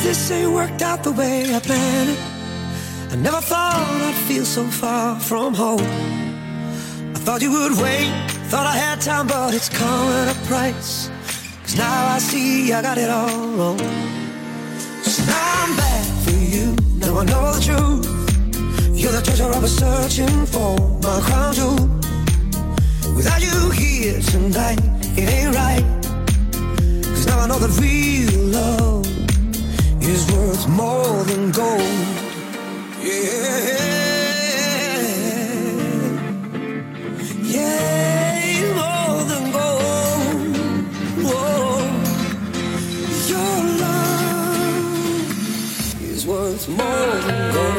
this ain't worked out the way I planned it. I never thought I'd feel so far from home. I thought you would wait, thought I had time, but it's come at a price. 'Cause now I see I got it all wrong. So now I'm back for you, now I know the truth. You're the treasure I was searching for, my crown jewel. Without you here tonight, it ain't right. 'Cause now I know that real love is worth more than gold. Yeah, yeah, more than gold. Whoa. Your love is worth more than gold.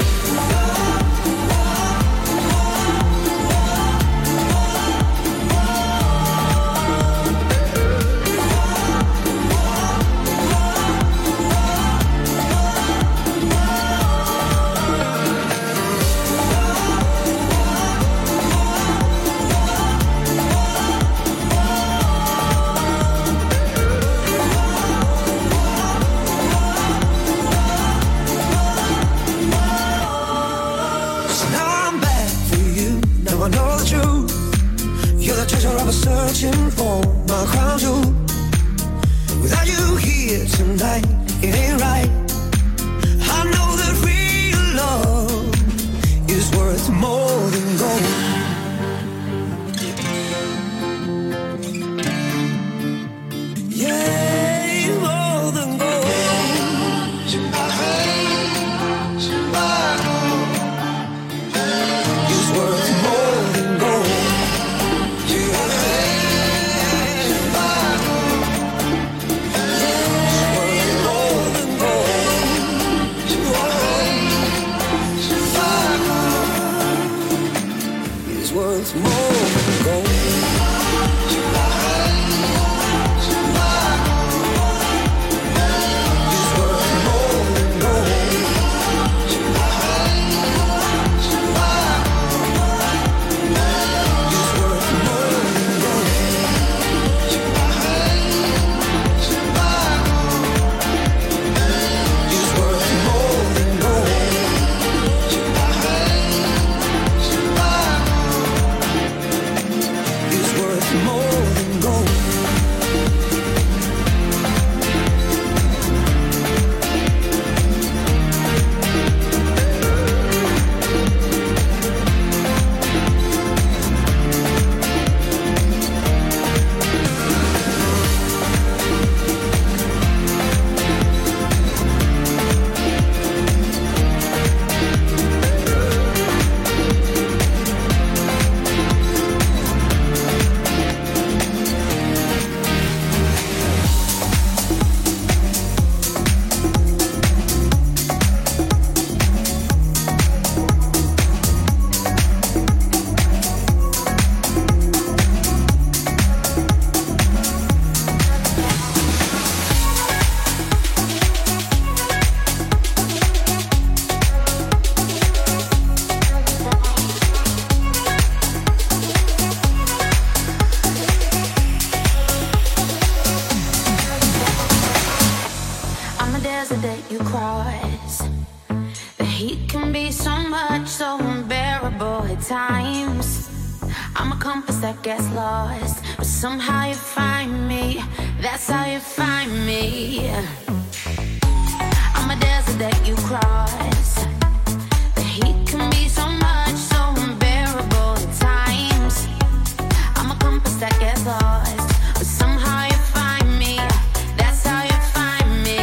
Searching for my crown jewel. Without you here tonight, it ain't right. I know that real love is worth more than gold. Yeah, more than gold. It's worth more than gold. Worth more than gold. Somehow you find me, that's how you find me. I'm a desert that you cross. The heat can be so much, so unbearable at times. I'm a compass that gets lost, but somehow you find me, that's how you find me.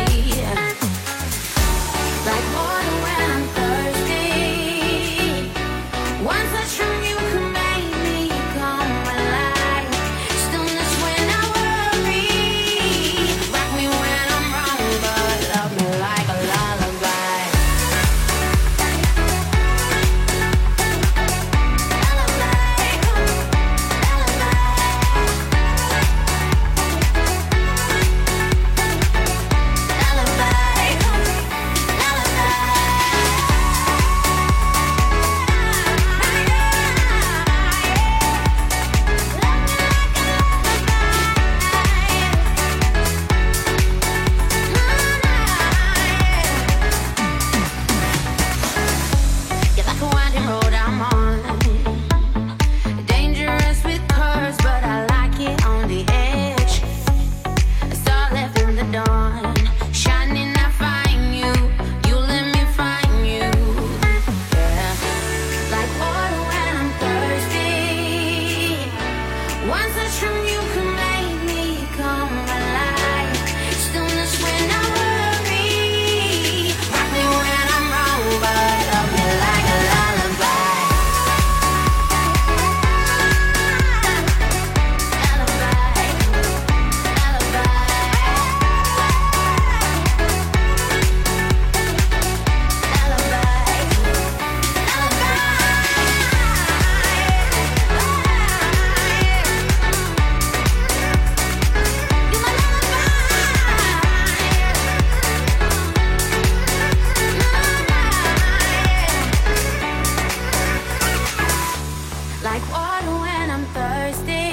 Like water when I'm thirsty. One touch from you can make me come alive. Stillness when I worry. Rock me when I'm wrong, but love me like a lullaby. road I'm on. Dangerous with curves, but I like it on the edge. A star left in the dawn, shining I find you. You let me find you. Yeah, like water when I'm thirsty. One touch from you can make me come alive. Stillness when I worry. Rock me when I'm wrong, but love me like a lullaby. Lullaby, like water when I'm thirsty.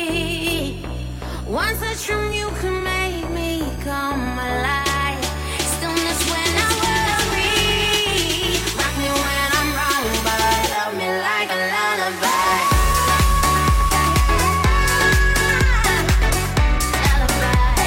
One touch from you can make me come alive. Stillness when I worry. Rock me when I'm wrong, but love me like a lullaby. Lullaby,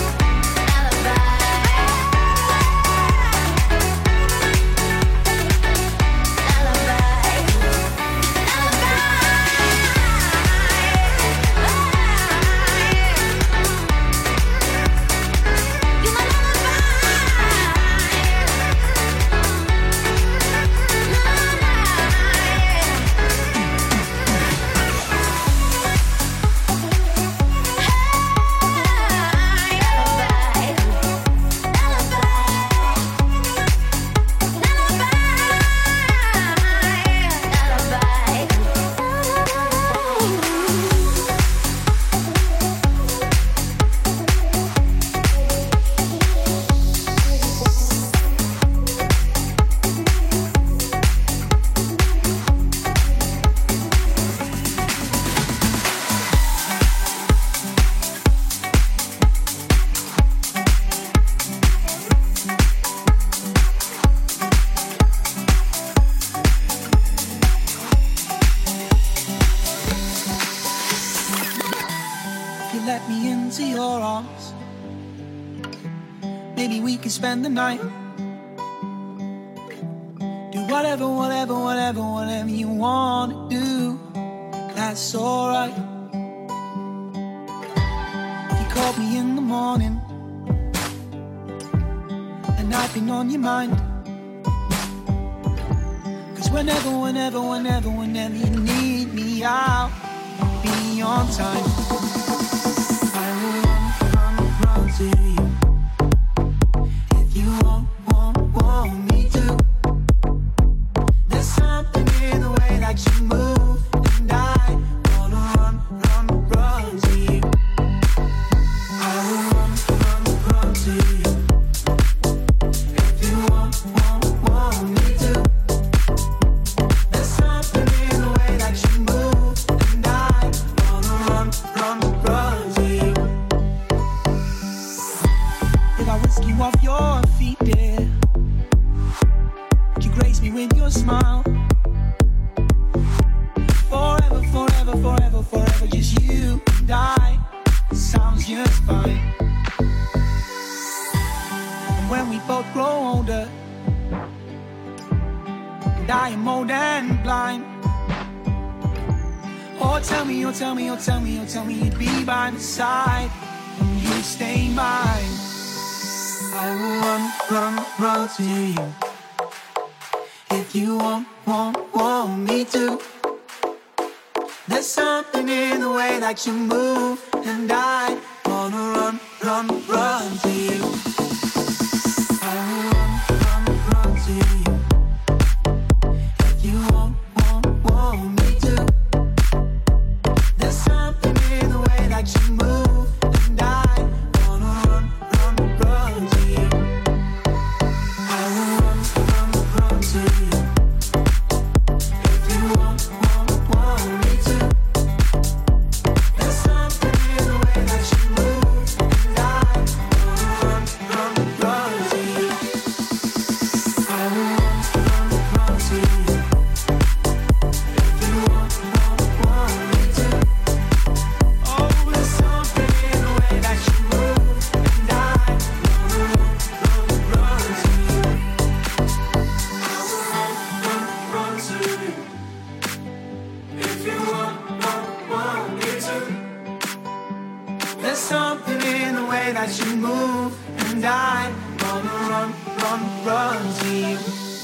If you let me into your arms, maybe we can spend the night. Do whatever, whatever, whatever, whatever you wanna do. That's alright. If you called me in the morning and I've been on your mind, 'cause whenever, whenever, whenever, whenever you need me, I'll be on time. I will run to you if you want me to. There's something in the way that you move, and I wanna run to you. I will run to you if you want me to. There's something in the way that you move, and I wanna run to you. If I whisk you off your feet, dear, would you grace me with your smile? Forever, forever, forever, forever, just you and I. Sounds just fine. And when we both grow older, and I am old and blind, oh tell me, oh tell me, oh tell me, oh tell me you'd be by my side, and you stay mine. I will run to you if you want me to. There's something in the way that you move, and I wanna run to you. I will run to you if you want me to. There's something in the way that you move, and I wanna run to you. I will run to you if you want me to. There's something in the way that you move, and I wanna run way that you move, and I wanna run, run, run to you.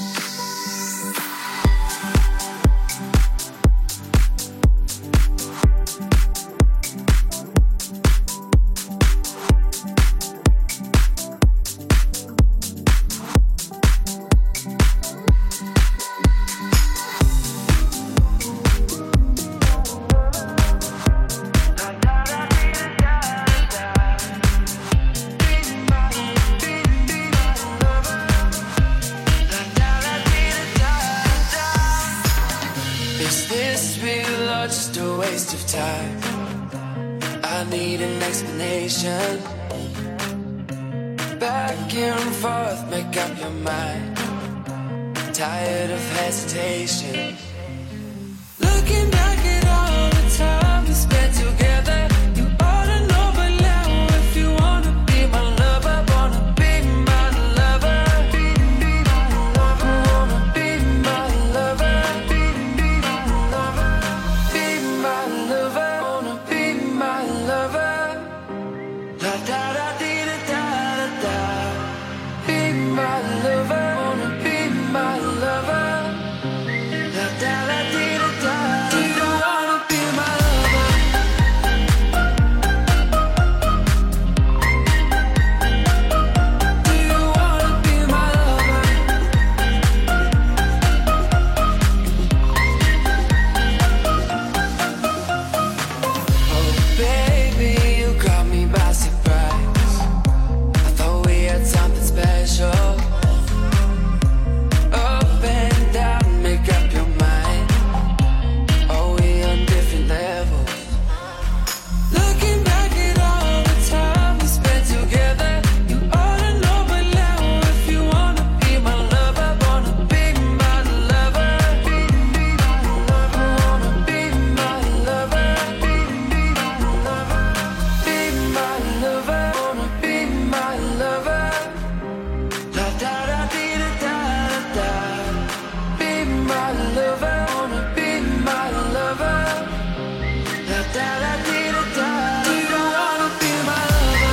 Back and forth, make up your mind. Tired of hesitation. Looking back at all the time we spent together, you ought to know by now if you wanna be my lover, wanna be my lover. Wanna be my lover. Be my lover. Wanna be my lover. La da da dee da da da da. Be my lover. Wanna be my lover. La da da dee da da. Do you wanna be my lover? Do you wanna be my lover? Oh baby, you caught me by surprise. I thought we had something special. Up and down, make up your mind. Are we on different levels? Looking back at all the time we spent together, you ought to know by now if you wanna be my lover, wanna be my lover. Wanna be my lover. Be my lover. Wanna be my lover. La da da dee da da da da. Be my lover. Wanna be my lover. La da da dee da da. Do you wanna be my lover?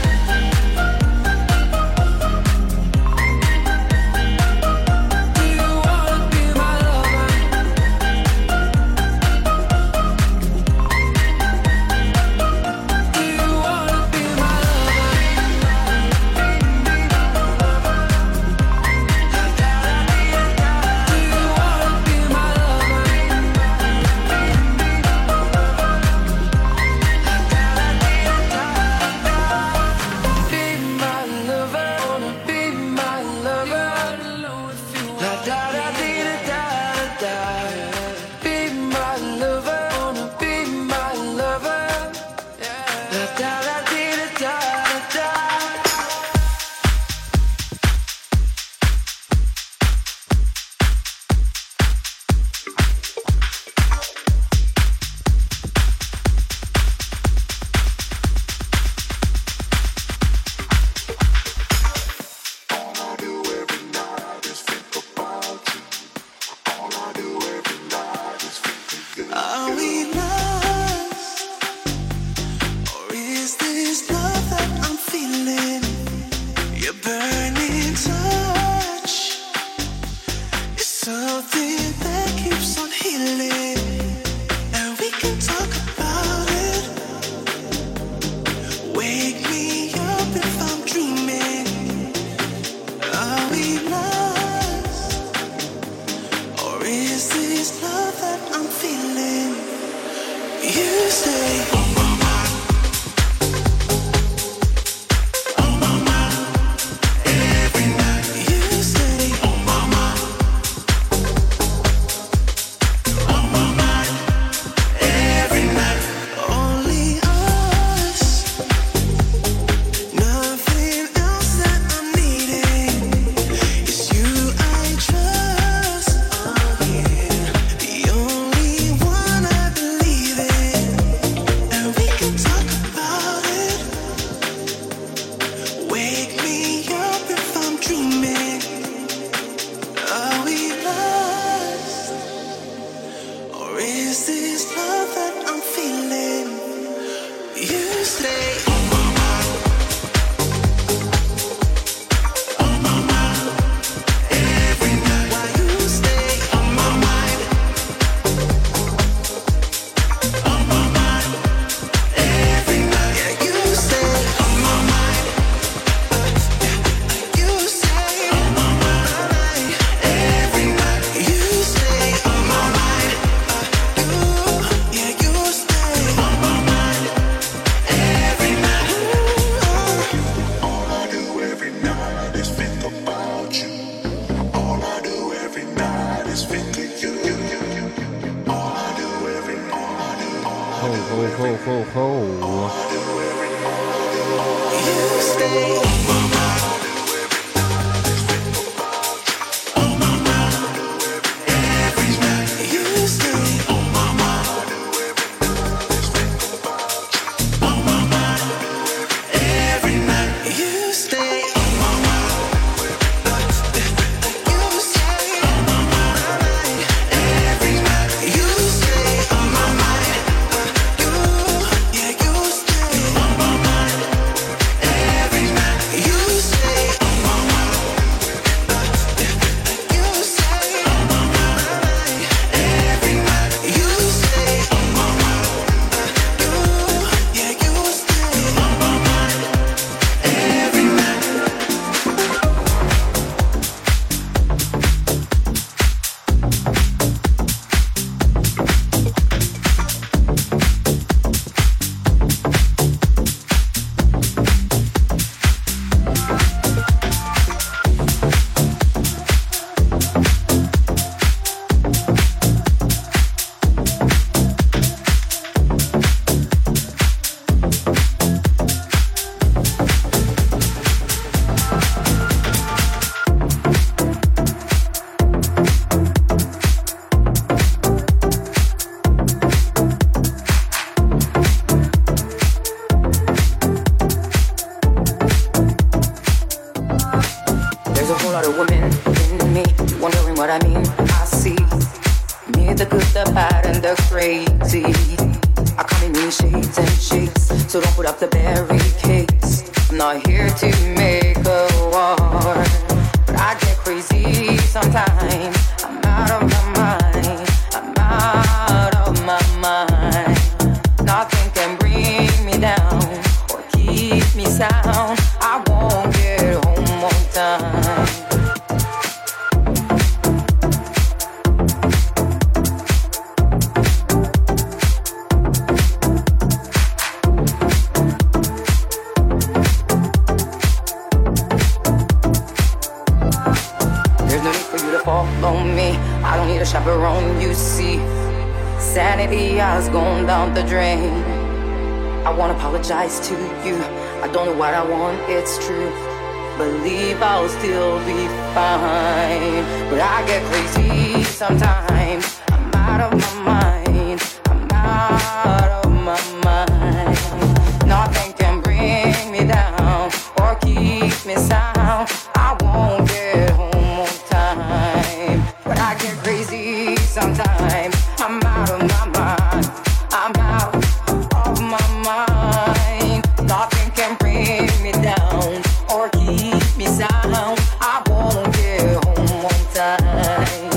Do you wanna be my lover? Do you wanna be my Are we lost? Or is this love that I'm feeling? Your burning touch is something that keeps on healing. And we can talk about it. Wake me up if I'm dreaming. Are we lost? Or is this love that I'm feeling? You say on my mind, every night. You say on my mind, every night. Only us, nothing else that I'm needing. It's you I trust. The only one I believe in. And we can talk about it. Wake me up if I'm dreaming. Are we lost? Or is this love that I'm feeling? You stay on my mind. To you, I don't know what I want, it's true. Believe I'll still be fine, but I get crazy sometimes. I'm out of my mind. I'm out of my mind. Nothing can bring me down or keep me sound. I won't get home on time, but I get crazy sometimes. I'm out of my mind. I'm out of my mind. Nothing can bring me down or keep me sound. I won't get home on time.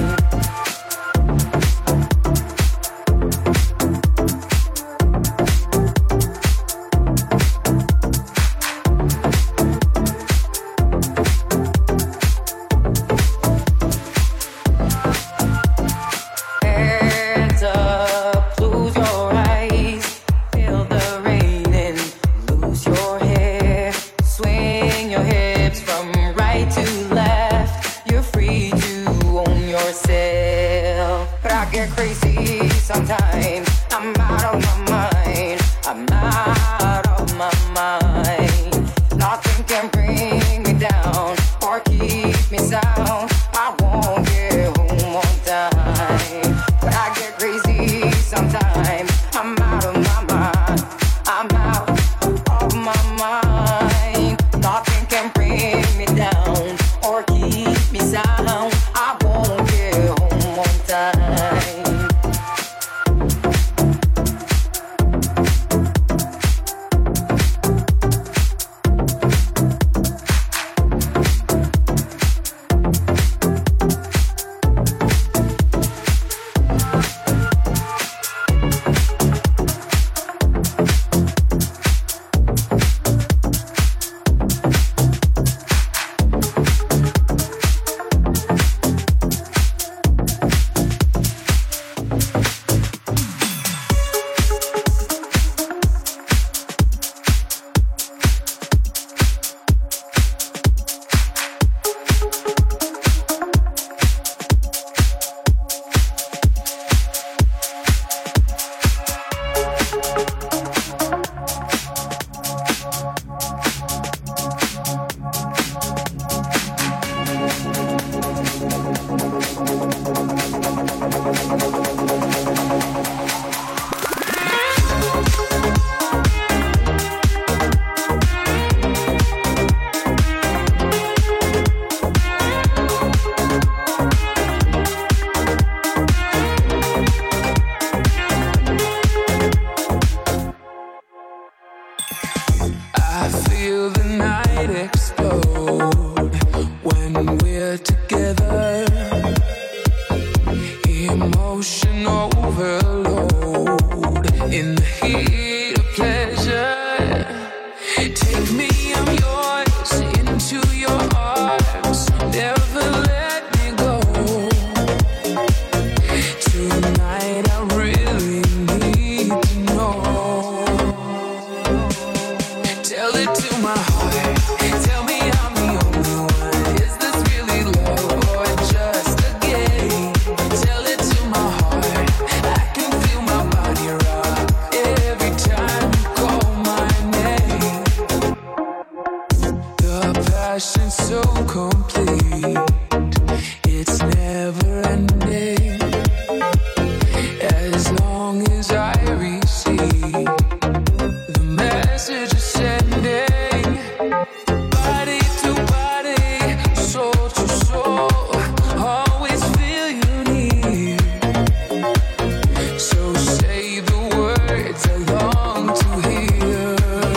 Hands up, close your eyes, feel the rain and lose your hair. Swing your hips from right to left. You're free to own yourself. But I get crazy sometimes. I'm out of my mind. I'm out of my mind. Nothing can bring me down or keep me sound. I won't get home on time. But I get crazy sometimes. I'm out of my mind. I'm out of my mind. Nothing can bring me down or keep me sound. I won't get home on time. overload in the heat of pleasure. Take me, I'm yours, into your arms. Never let me go. Tonight I really need to know. Tell it to my heart. Tell me I'm the only one. Is this really love or just a game? Tell it to my heart. I can feel my body rock every time you call my name. The passion's so complete. It's never ending. As long as I receive the message is sending. Body to body, soul to soul, always feel you near. So say the words I long to hear.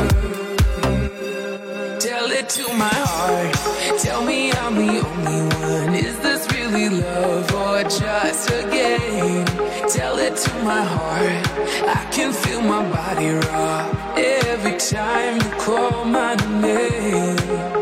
Tell it to my heart. Tell me I'm the only one. Is this really love or just a game? Tell it to my heart. I can feel my body rock every time you call my name.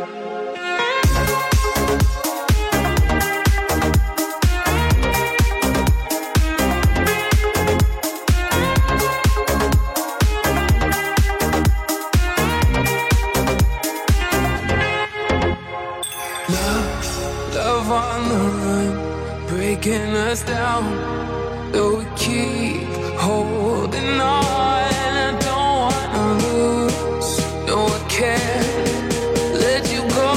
Love on the run, breaking us down. Though we keep holding on, I don't wanna lose. No, I can't let you go.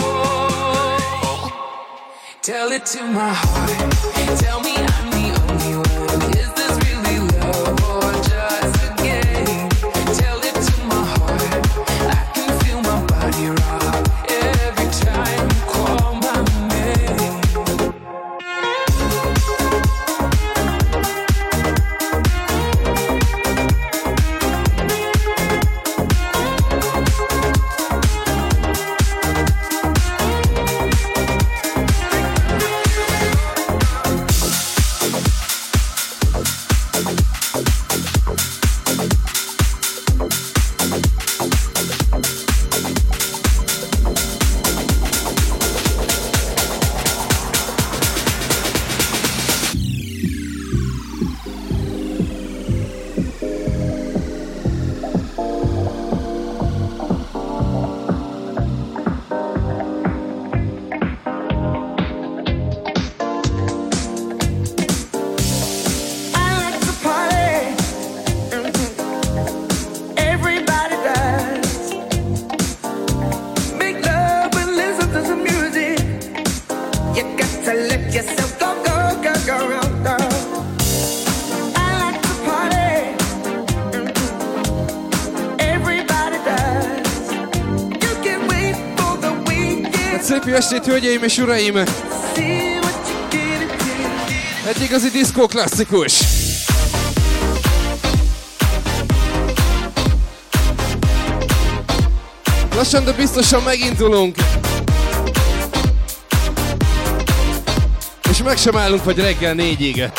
Tell it to my heart. Tell me I'm the only one. Is this really love or just a game? Tell it to my heart. I can feel my body rock every time you call my name. Szép jó estét, hölgyeim és uraim! Egy igazi diszkó klasszikus! Lassan, de biztosan megindulunk! És meg sem állunk, vagy reggel 4-ig.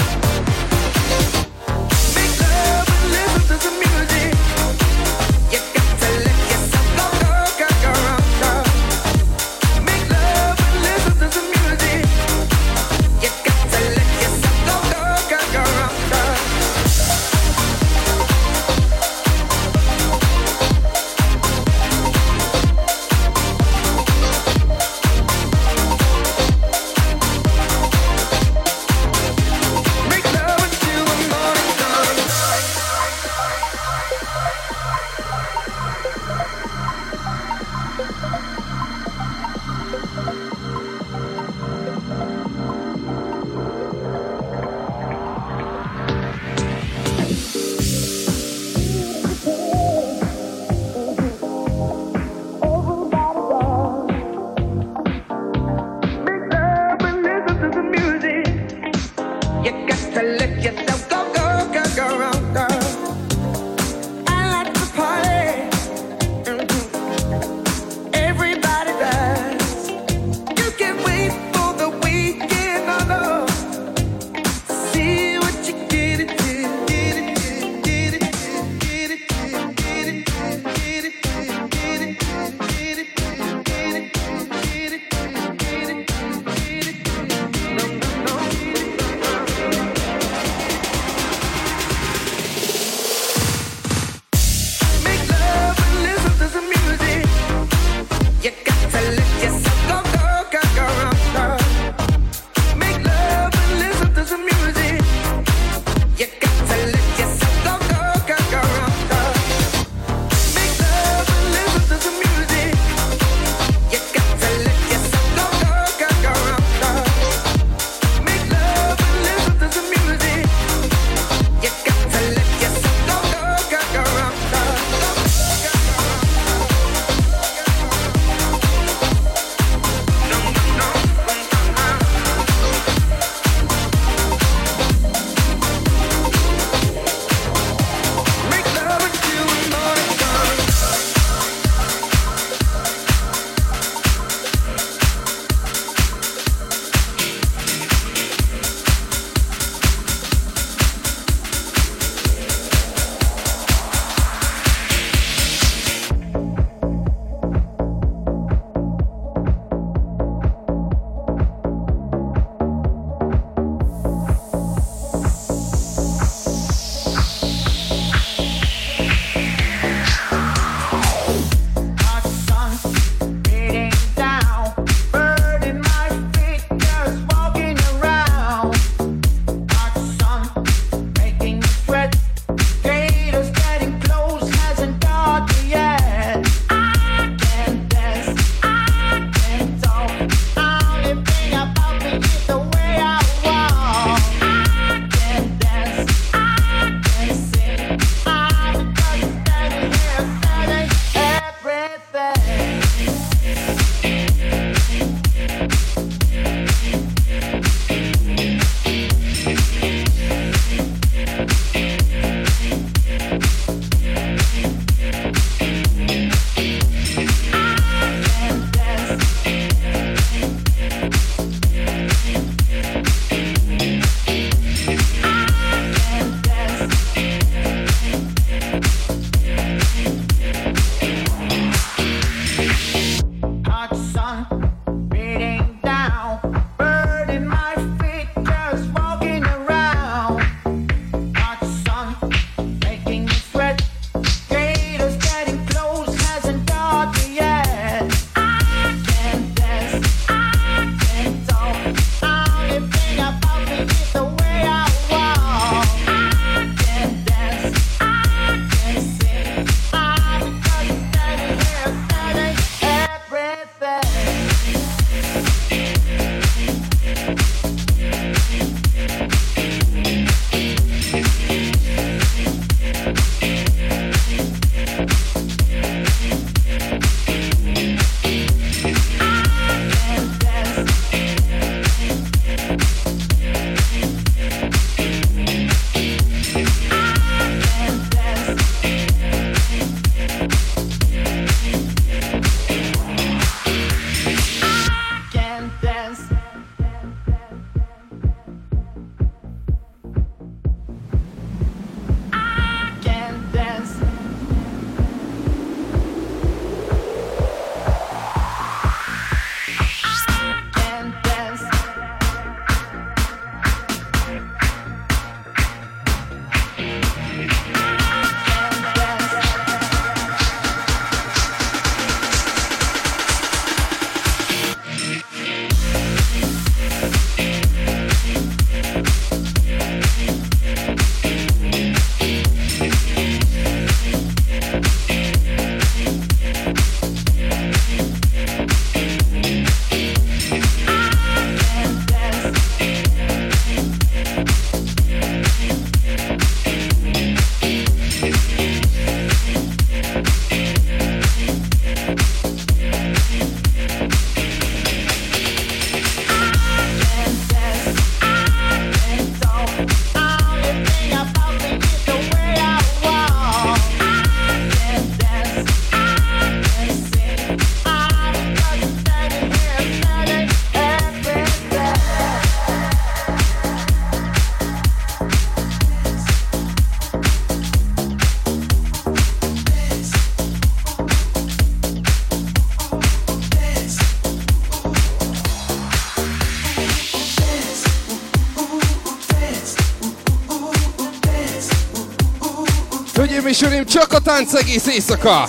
Hölgyeim és uraim, csak a tánc egész éjszaka!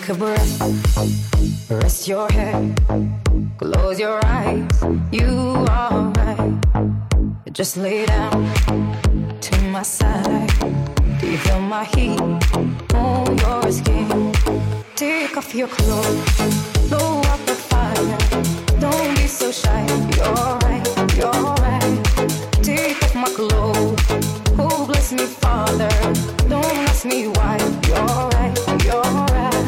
Take a breath, rest your head, close your eyes, you are right. Just lay down to my side. Do you feel my heat on your skin? Take off your clothes, blow up the fire. Don't be so shy, you're right, you're right. Take off my clothes, oh bless me Father. Don't ask me why, you're right, you're right.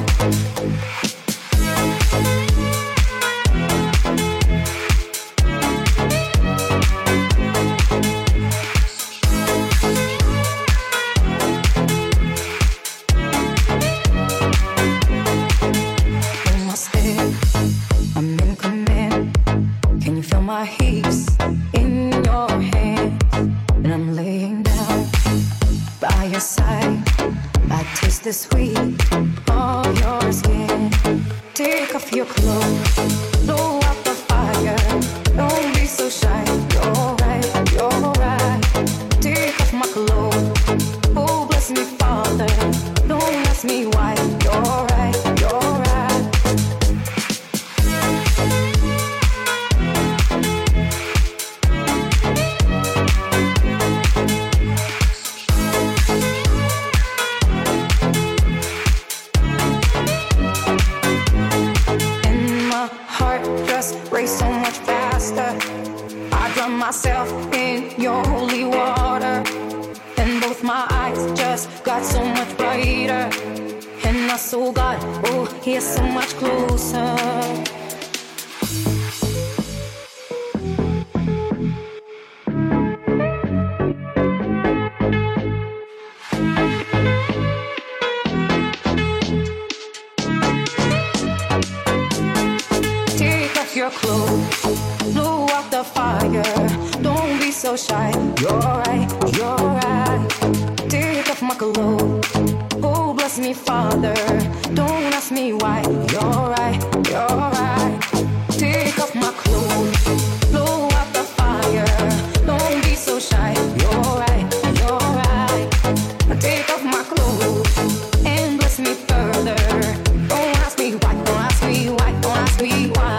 My hips in your hands, and I'm laying down by your side. I taste the sweet of your skin. Take off your clothes, blow out the fire. Don't be so shy. You're right, you're right. Take off my clothes. Oh, bless me, Father. Don't ask me why. You're right, you're right. Race so much faster. I drown myself in your holy water, and both my eyes just got so much brighter. And I saw God, oh, He is so much closer. Your clothes, blow out the fire. Don't be so shy. You're right, you're right. Take off my clothes. Oh, bless me, Father. Don't ask me why. You're right, you're right. Take off my clothes, blow out the fire. Don't be so shy. You're right, you're right. Take off my clothes and bless me further. Don't ask me why. Don't ask me why. Don't ask me why.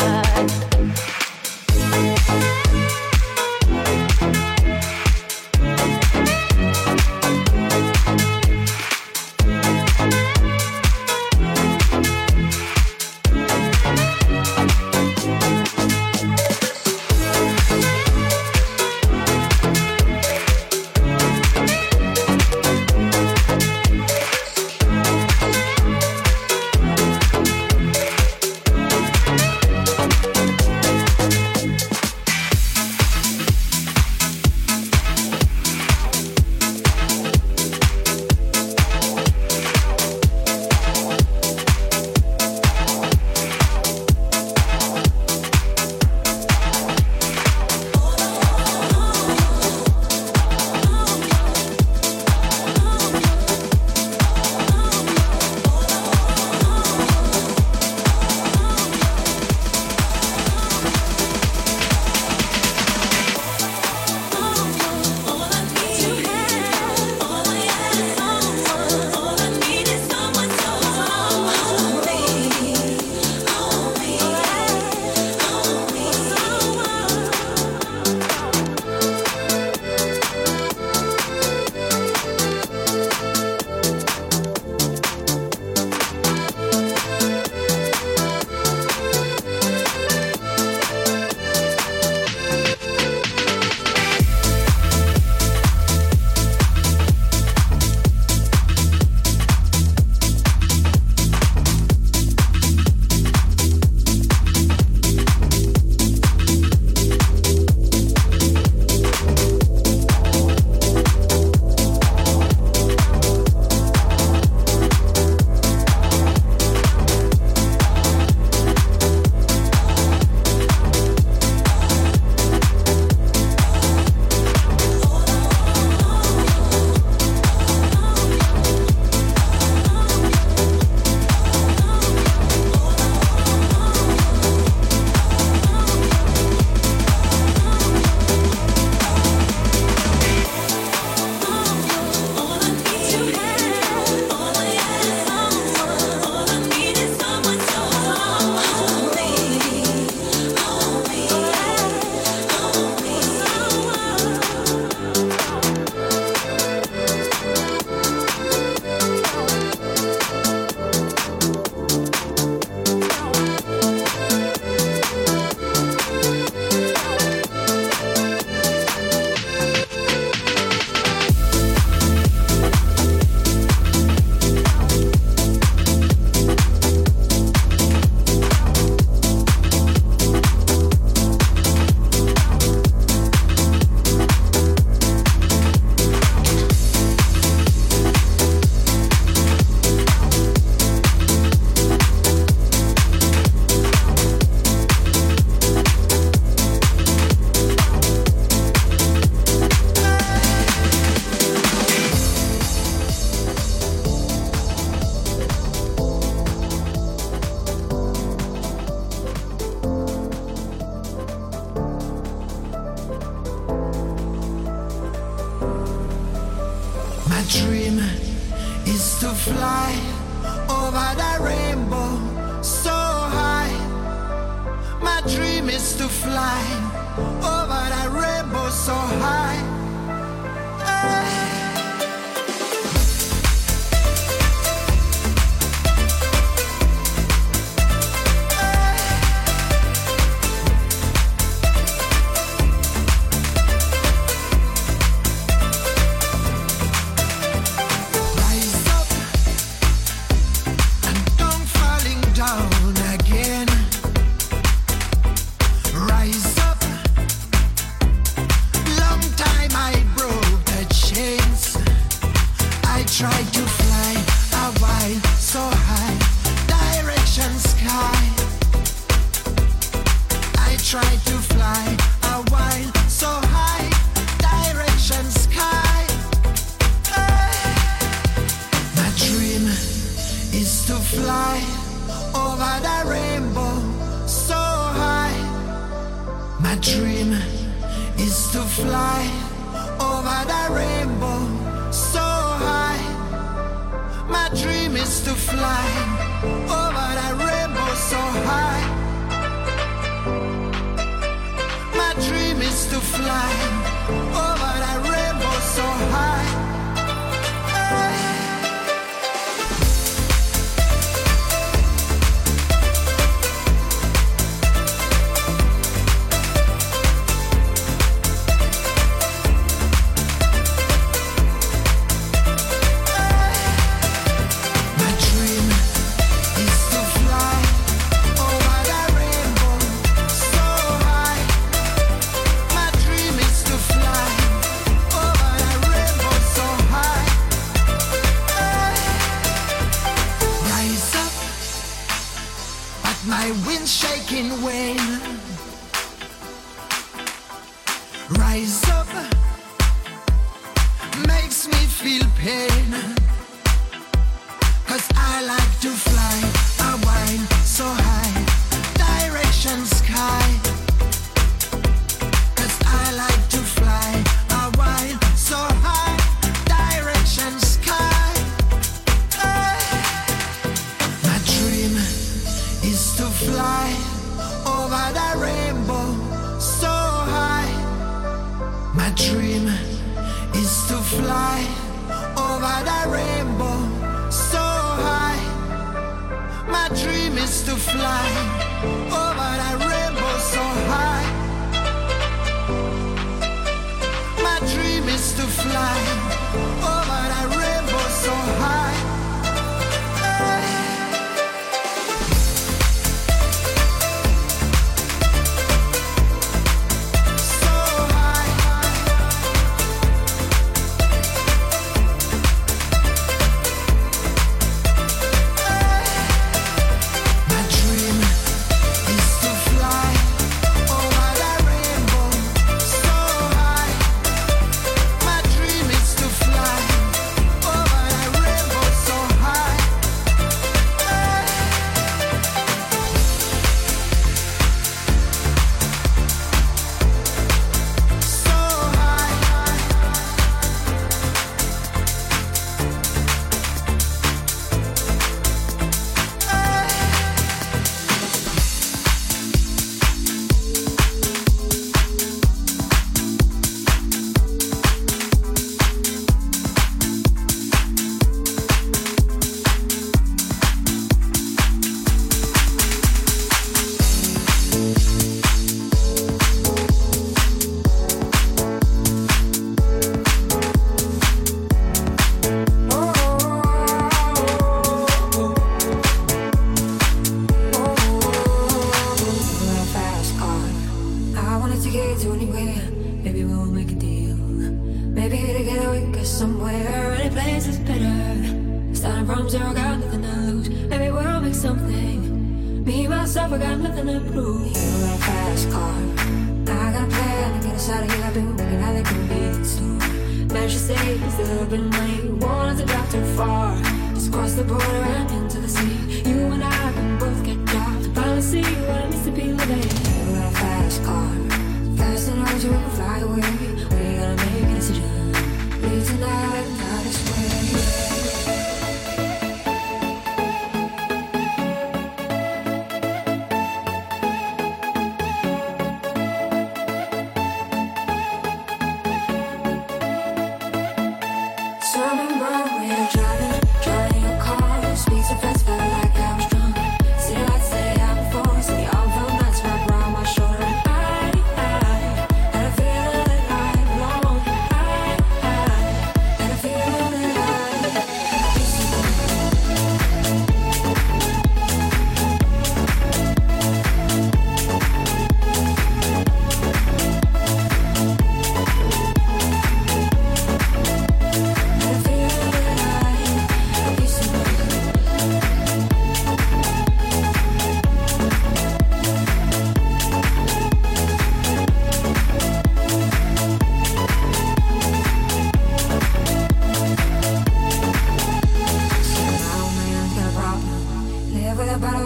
fly over the rainbow so high. My dream is to fly over the rainbow so high.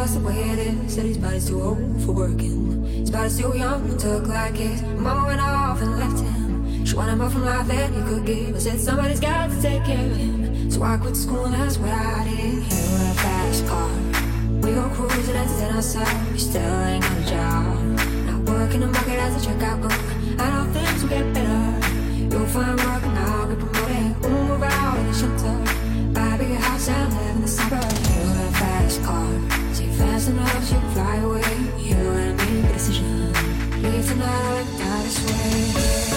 that's the way it is. Said his body's too old for working. His body's too young and took like his. Mama went off and left him. She wanted more from life than he could give. I said somebody's got to take care of him. So I quit school and that's what I did. He in a fast car. We go cruising and entertain ourselves. We still ain't got a job. Not working the market as a checkout clerk. I know things will get better. You'll find work and I'll get promoted. We'll move out in the shelter. Buy a bigger house and live in the suburbs. You in a fast car. See fast enough so you can fly away. You and me make a decision. Leave tonight or die this way.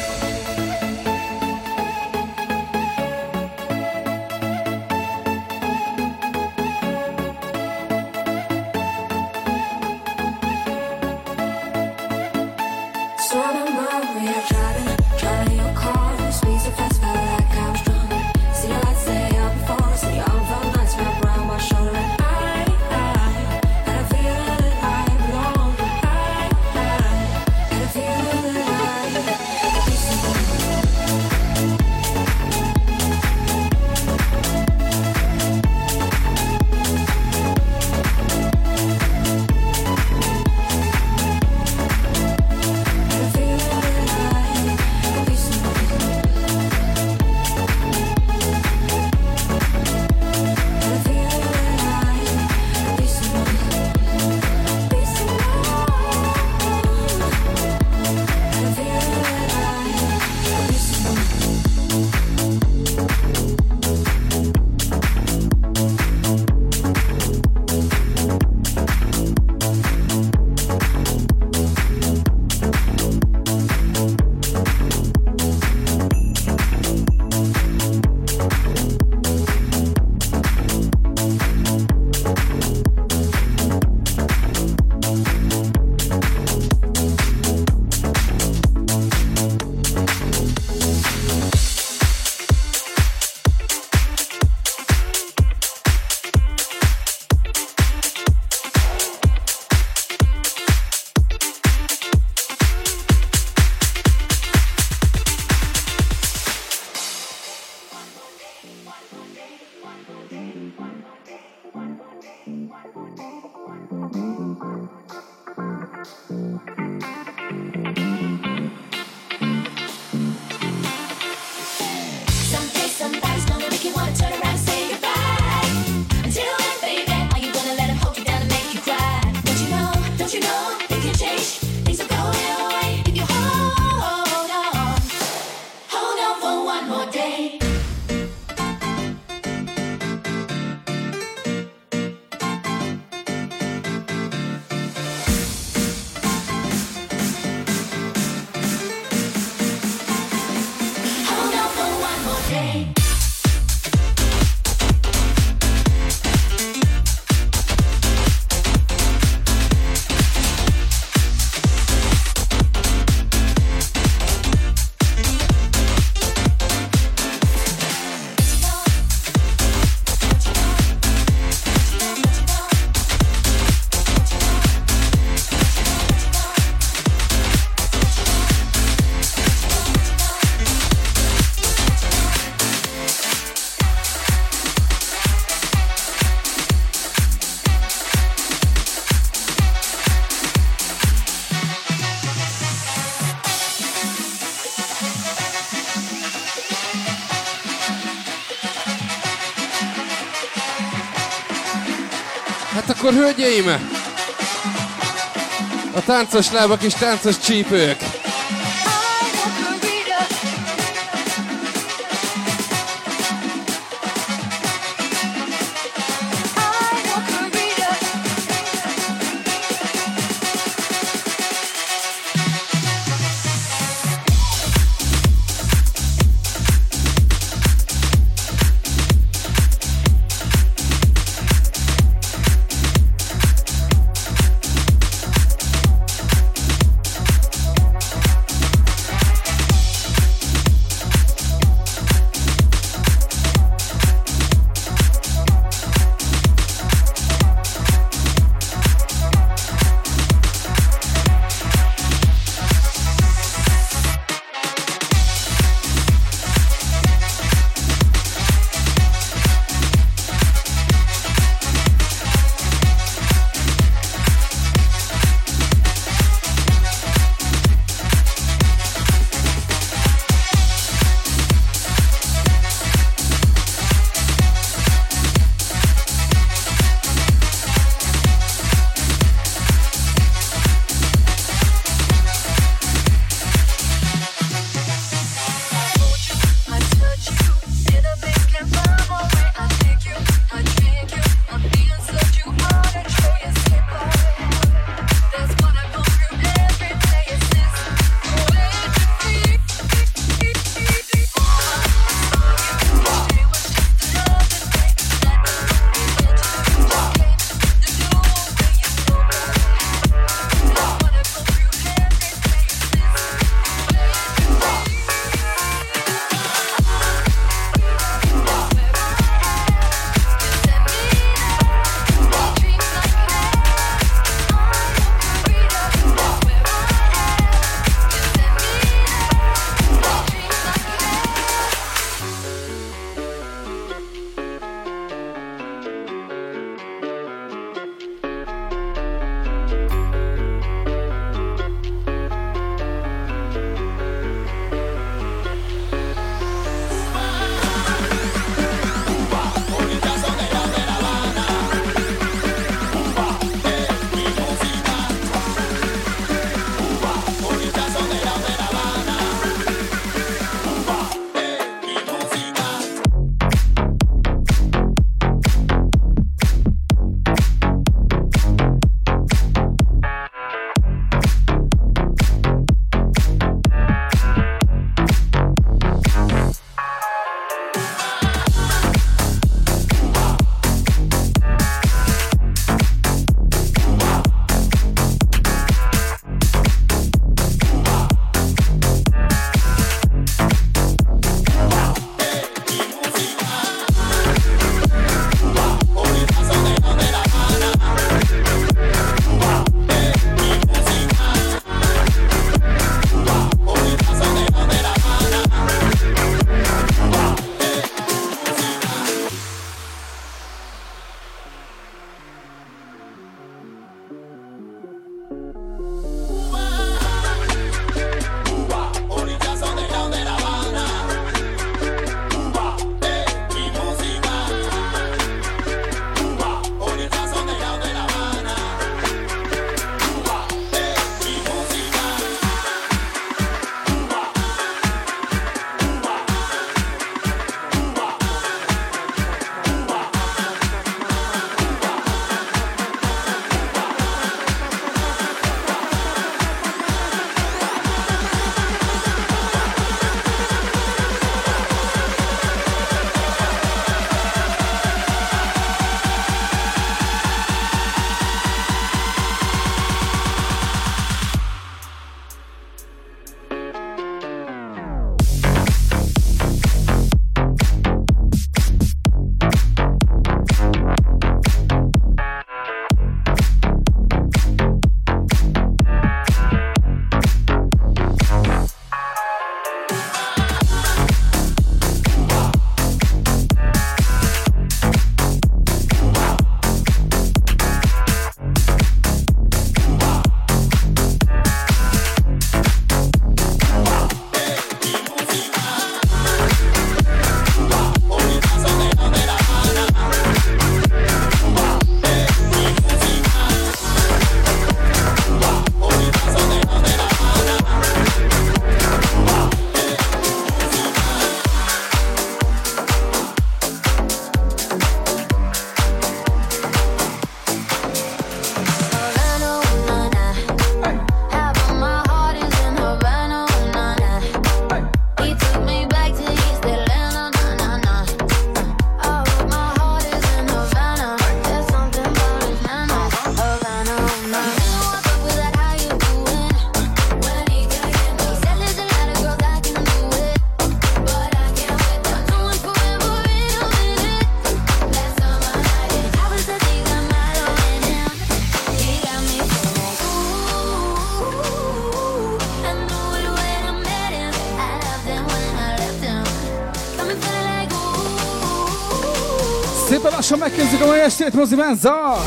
Akkor hölgyeim, a táncos lábak és táncos csípők. lassan megkezdjük a mai estét, Mozi Menza!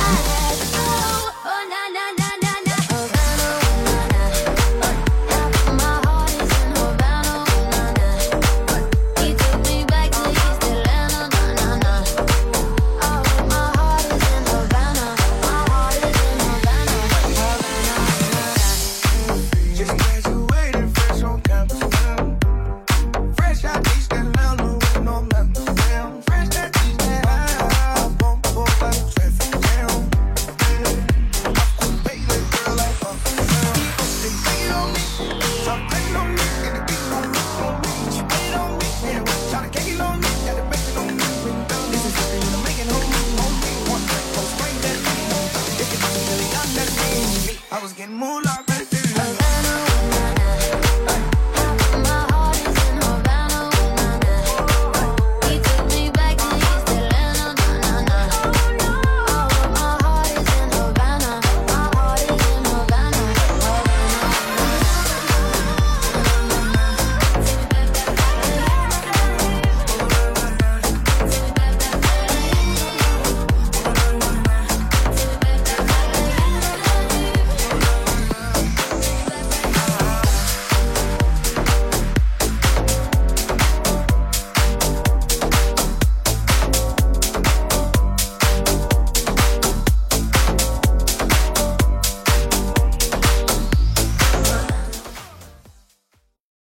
I was getting moolah.